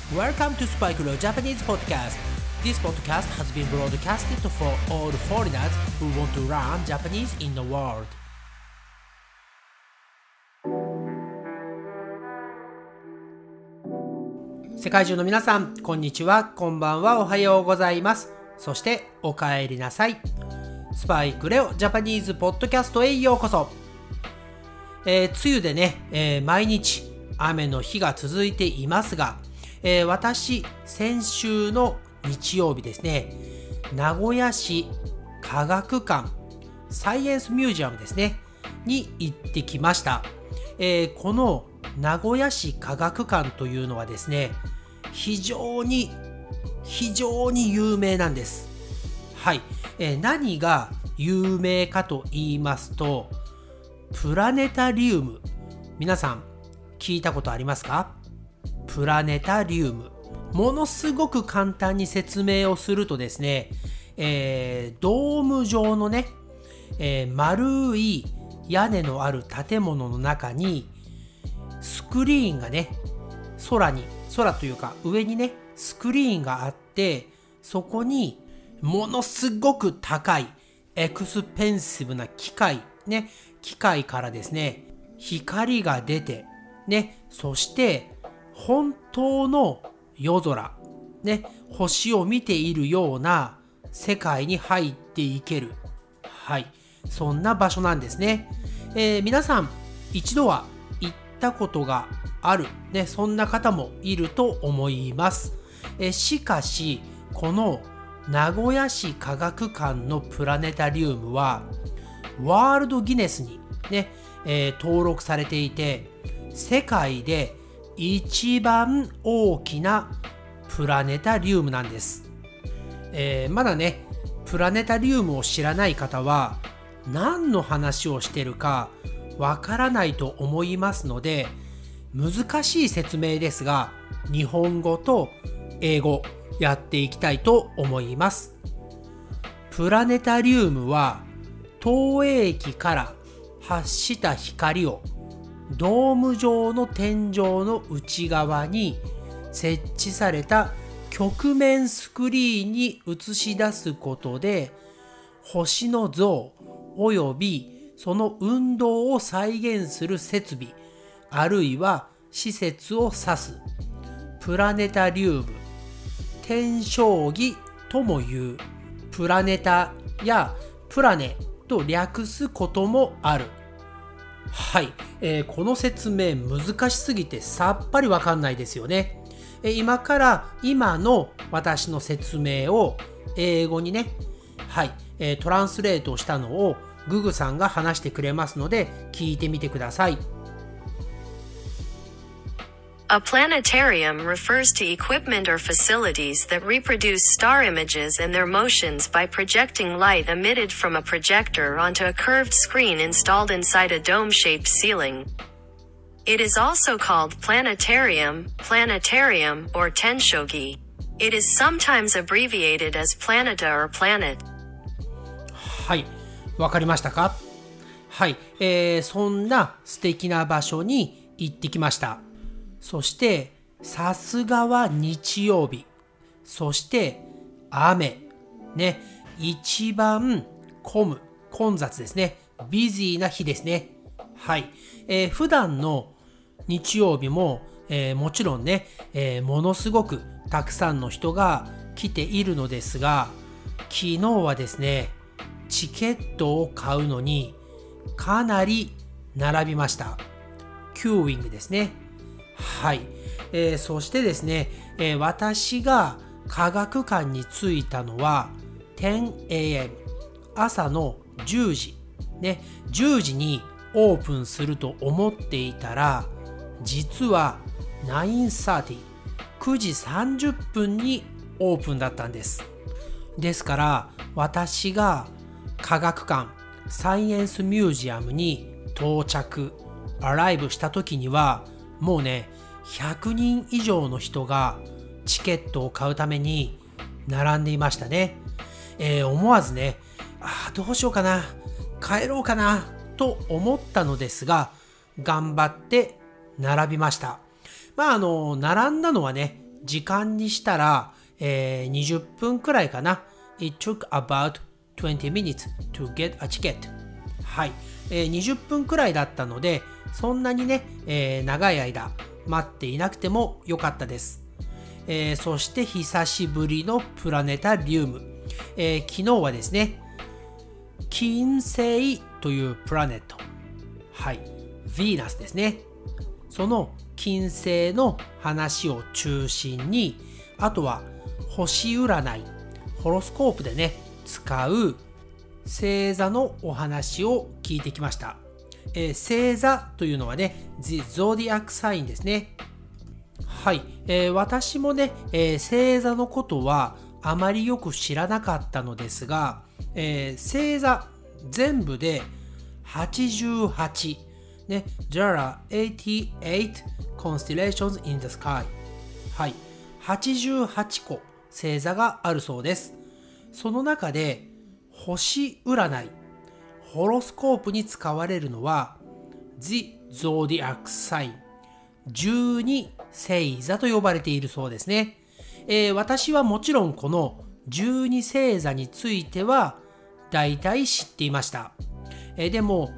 Welcome to Spike Leo Japanese Podcast. This podcast has been broadcasted for all foreigners who want to learn Japanese in the world. 世界中の皆さん、こんにちは、こんばんは、おはようございます。そしてお帰りなさい。スパイクレオジャパニーズポッドキャストへようこそ。梅雨でね、毎日雨の日が続いていますが、私、先週の日曜日ですね、名古屋市科学館サイエンスミュージアムですね、に行ってきました。この名古屋市科学館というのはですね、非常に有名なんです。はい。何が有名かと言いますと、プラネタリウム。皆さん、聞いたことありますか？プラネタリウム。ものすごく簡単に説明をするとですね、ドーム状のね、丸い屋根のある建物の中にスクリーンがね、空というか上にね、スクリーンがあって、そこにものすごく高いエクスペンシブな機械からですね、光が出て、ね、そして本当の夜空、ね、星を見ているような世界に入っていける。はい。そんな場所なんですね。皆さん、一度は行ったことがある、ね、そんな方もいると思います。しかし、この名古屋市科学館のプラネタリウムは、ワールドギネスに、ね、登録されていて、世界で一番大きなプラネタリウムなんです。まだね、プラネタリウムを知らない方は何の話をしてるかわからないと思いますので、難しい説明ですが、日本語と英語やっていきたいと思います。プラネタリウムは投影機から発した光をドーム状の天井の内側に設置された曲面スクリーンに映し出すことで、星の像およびその運動を再現する設備あるいは施設を指すプラネタリウム、天象儀ともいう。プラネタやプラネと略すこともある。はい、この説明難しすぎてさっぱりわかんないですよね。今の私の説明を英語にね、はい、トランスレートしたのをググさんが話してくれますので聞いてみてください。 A planetarium refers to equipment or facilities that reproduce star images and their motions by projecting light emitted from a projector onto a curved screen installed inside a dome-shaped ceiling. It is also called planetarium, or tenshogi. It is sometimes abbreviated as planeta or planet. はい、わかりましたか？はい、そんな素敵な場所に行ってきました。そしてさすがは日曜日、そして雨ね、一番混雑ですね、ビジーな日ですね。はい、普段の日曜日も、もちろんね、ものすごくたくさんの人が来ているのですが、昨日はですね、チケットを買うのにかなり並びました。キューイングですね。はい、そしてですね、私が科学館に着いたのは 10am 朝の10時ね、10時にオープンすると思っていたら、実は9:30 9時30分にオープンだったんです。ですから私が科学館サイエンスミュージアムにアライブした時にはもうね、100人以上の人がチケットを買うために並んでいましたね。思わずね、どうしようかな、帰ろうかなと思ったのですが、頑張って並びました。並んだのはね、 時間にしたら、20分くらいかな。It took about 20 minutes to get a ticket. はい、20分くらいだったので、そんなにね、長い間待っていなくてもよかったです。そして久しぶりのプラネタリウム。昨日はですね、金星というプラネット。はい、ヴィーナスですね。その金星の話を中心に、あとは星占い、ホロスコープでね、使う星座のお話を聞いてきました。星座というのはね、The Zodiac Sign ですね。はい、私もね、星座のことはあまりよく知らなかったのですが、星座全部で88、ね、There are 88 constellations in the sky。はい、88個星座があるそうです。その中で星占い、ホロスコープに使われるのは The Zodiac Sign、 12星座と呼ばれているそうですね。私はもちろんこの12星座については大体知っていました。でも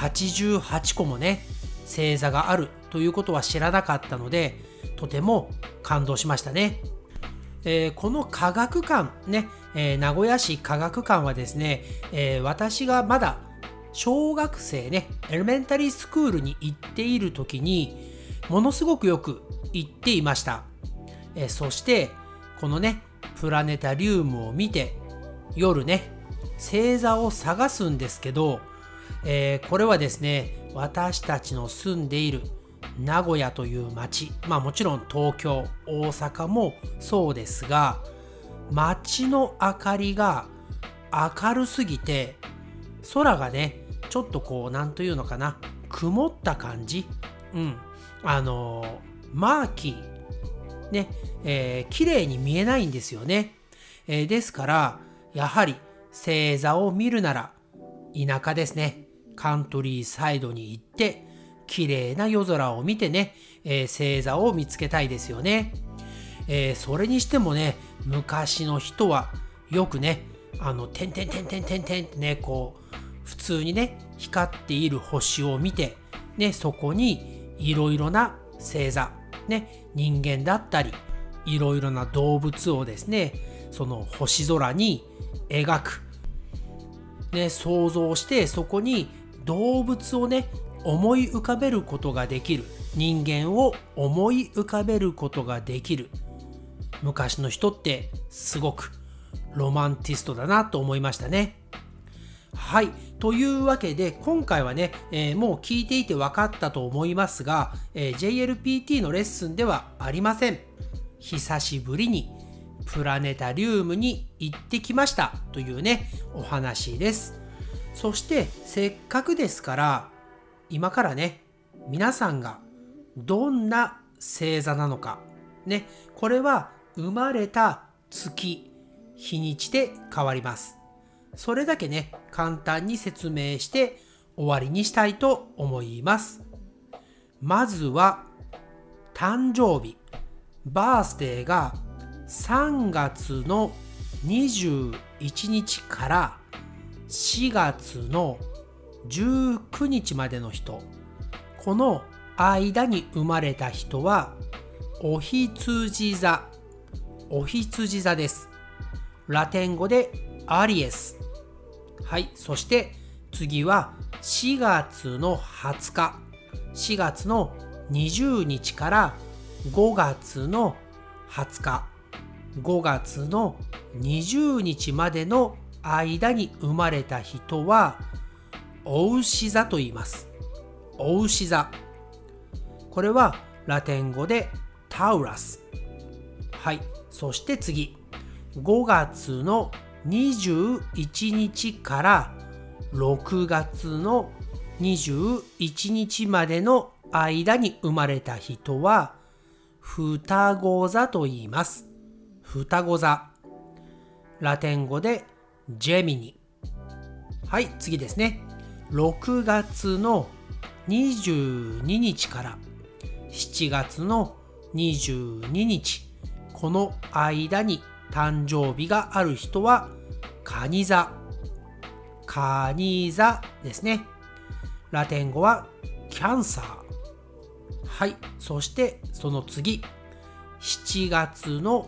88個もね、星座があるということは知らなかったので、とても感動しましたね。この科学館ね、名古屋市科学館はですね、私がまだ小学生ね、エレメンタリースクールに行っている時にものすごくよく行っていました。そしてこのね、プラネタリウムを見て夜ね、星座を探すんですけど、これはですね、私たちの住んでいる名古屋という街、もちろん東京、大阪もそうですが、街の明かりが明るすぎて、空がね、ちょっとこう、なんというのかな、曇った感じ、マーキーね、綺麗に見えないんですよね。ですからやはり星座を見るなら田舎ですね、カントリーサイドに行って綺麗な夜空を見てね、星座を見つけたいですよね。それにしてもね、昔の人はよくね、てんてんてんてんてんてんってね、こう普通にね、光っている星を見てね、そこにいろいろな星座ね、人間だったりいろいろな動物をですね、その星空に描く、ね、想像して、そこに動物をね、思い浮かべることができる、人間を思い浮かべることができる昔の人ってすごくロマンティストだなと思いましたね。はい、というわけで今回はね、もう聞いていて分かったと思いますが、JLPT のレッスンではありません。久しぶりにプラネタリウムに行ってきましたというね、お話です。そしてせっかくですから、今からね、皆さんがどんな星座なのかね、これは生まれた月、日にちで変わります。それだけね、簡単に説明して終わりにしたいと思います。まずは誕生日、バースデーが3月の21日から4月の19日までの人、この間に生まれた人はお羊座、お羊座です。ラテン語でアリエス。はい、そして次は4月の20日、4月の20日から5月の20日、5月の20日までの間に生まれた人はお牛座と言います。お牛座。これはラテン語でタウラス。はい、そして次、5月の21日から6月の21日までの間に生まれた人は双子座と言います。双子座。ラテン語でジェミニ。はい、次ですね。6月の22日から7月の22日、 この間に誕生日がある人は蟹座。蟹座ですね。ラテン語はキャンサー。はい。そしてその次、7月の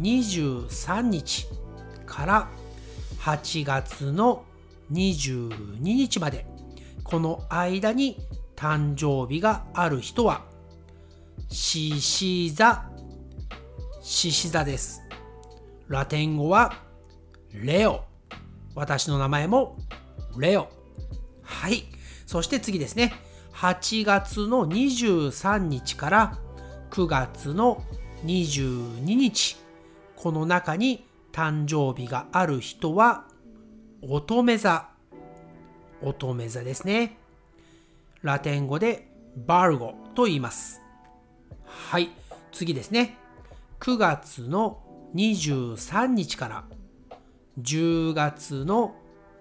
23日から8月の22日まで、この間に誕生日がある人は獅子座。獅子座です。ラテン語はレオ。私の名前もレオ。はい。そして次ですね。8月の23日から9月の22日。この中に誕生日がある人は乙女座。乙女座ですね。ラテン語でバルゴと言います。はい。次ですね。9月の23日から10月の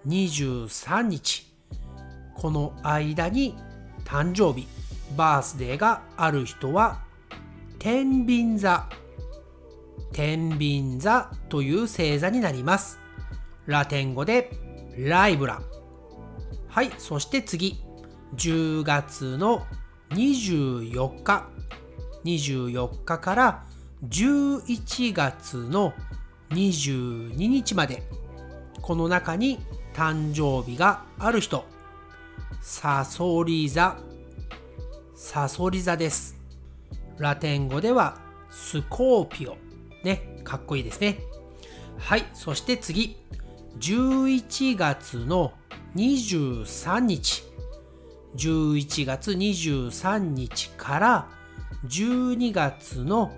23日。この間に誕生日、バースデーがある人は天秤座。天秤座という星座になります。ラテン語でライブラ。はい。そして次。10月の24日。24日から11月の22日まで。この中に誕生日がある人。サソリ座。サソリ座です。ラテン語ではスコーピオ。ね、かっこいいですね。はい。そして次。11月の23日。11月23日から12月の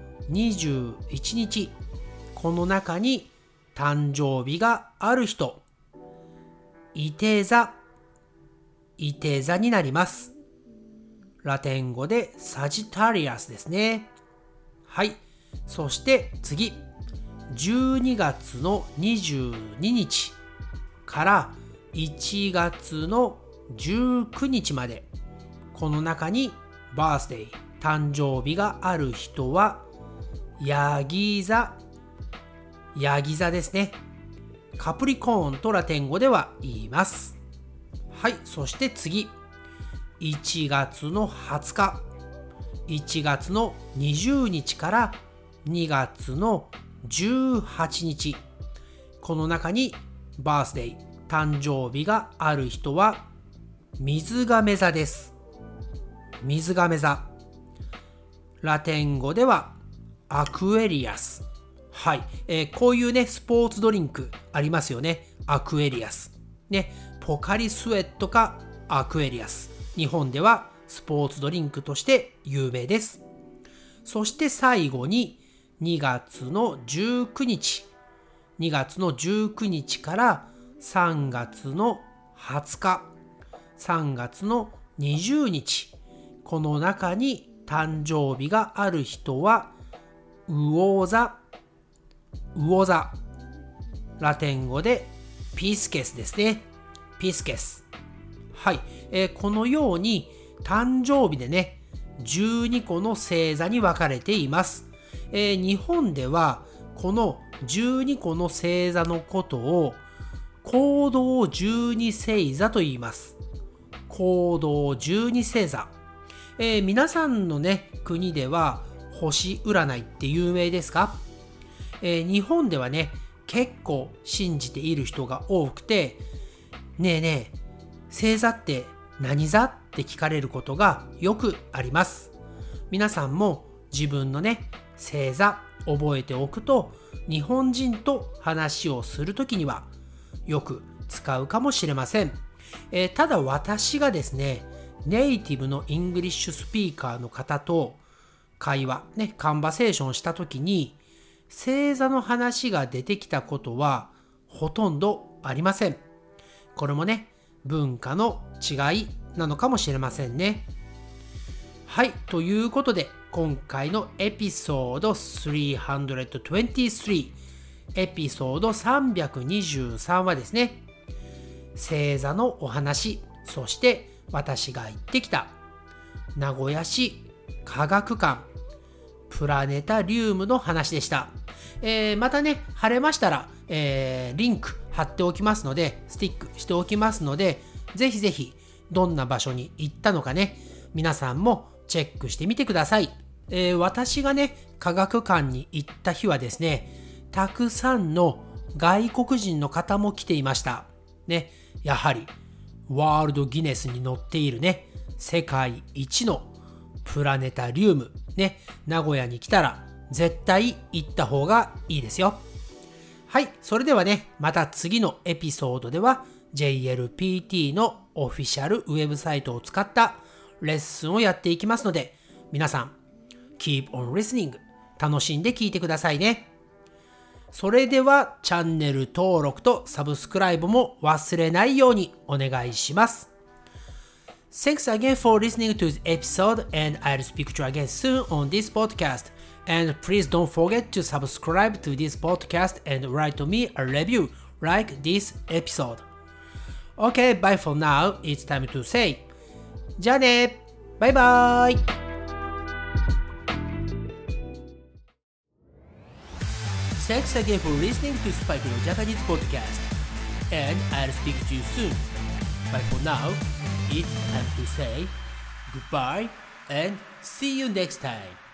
21日。この中に誕生日がある人。いて座。いて座になります。ラテン語でサジタリアスですね。はい。そして次。12月の22日から1月の19日まで。この中にバースデー、誕生日がある人はヤギ座。ヤギ座ですね。カプリコーンとラテン語では言います。はい。そして次。1月の20日。1月の20日から2月の18日。この中にバースデー、誕生日がある人は水亀座です。水亀座。ラテン語ではアクエリアス。はい。こういうね、スポーツドリンクありますよね。アクエリアス。ね、ポカリスエットかアクエリアス。日本ではスポーツドリンクとして有名です。そして最後に2月の19日。2月の19日から3月の20日。3月の20日。この中に誕生日がある人は魚座。魚座。ラテン語でピスケスですね。ピスケス。はい。このように誕生日でね、12個の星座に分かれています。日本ではこの12個の星座のことを行動12星座と言います。行動12星座。皆さんのね、国では星占いって有名ですか？日本ではね、結構信じている人が多くて、ねえねえ、星座って何座って聞かれることがよくあります。皆さんも自分のね、星座覚えておくと、日本人と話をするときにはよく使うかもしれません。ただ私がですね、ネイティブのイングリッシュスピーカーの方と会話、ね、カンバセーションしたときに、星座の話が出てきたことはほとんどありません。これもね、文化の違いなのかもしれませんね。はい、ということで今回のエピソード323、エピソード323はですね、星座のお話、そして私が行ってきた名古屋市科学館プラネタリウムの話でした。 またね、貼れましたら、リンク貼っておきますので、スティックしておきますので、ぜひぜひどんな場所に行ったのかね、皆さんもチェックしてみてください。私がね、科学館に行った日はですね、たくさんの外国人の方も来ていました。ね、やはりワールドギネスに載っているね、世界一のプラネタリウム、ね、名古屋に来たら絶対行った方がいいですよ。はい、それではね、また次のエピソードでは JLPT のオフィシャルウェブサイトを使ったレッスンをやっていきますので、皆さん Keep on listening 楽しんで聞いてくださいね。それではチャンネル登録とサブスクライブも忘れないようにお願いします。Thanks again for listening to this episode, and I'll speak to you again soon on this podcast. And please don't forget to subscribe to this podcast and write me a review like this episode. Okay, bye for now. It's time to say じゃあね、バイバイ。Thanks again for listening to Spike Leo Japanese podcast, and I'll speak to you soon. But for now, it's time to say goodbye and see you next time.